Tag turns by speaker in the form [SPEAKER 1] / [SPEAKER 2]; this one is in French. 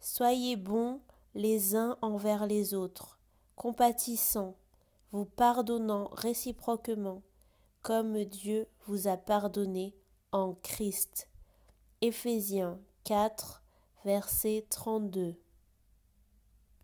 [SPEAKER 1] Soyez bons les uns envers les autres, compatissants, vous pardonnant réciproquement, comme Dieu vous a pardonné en Christ. Éphésiens 4, verset 32.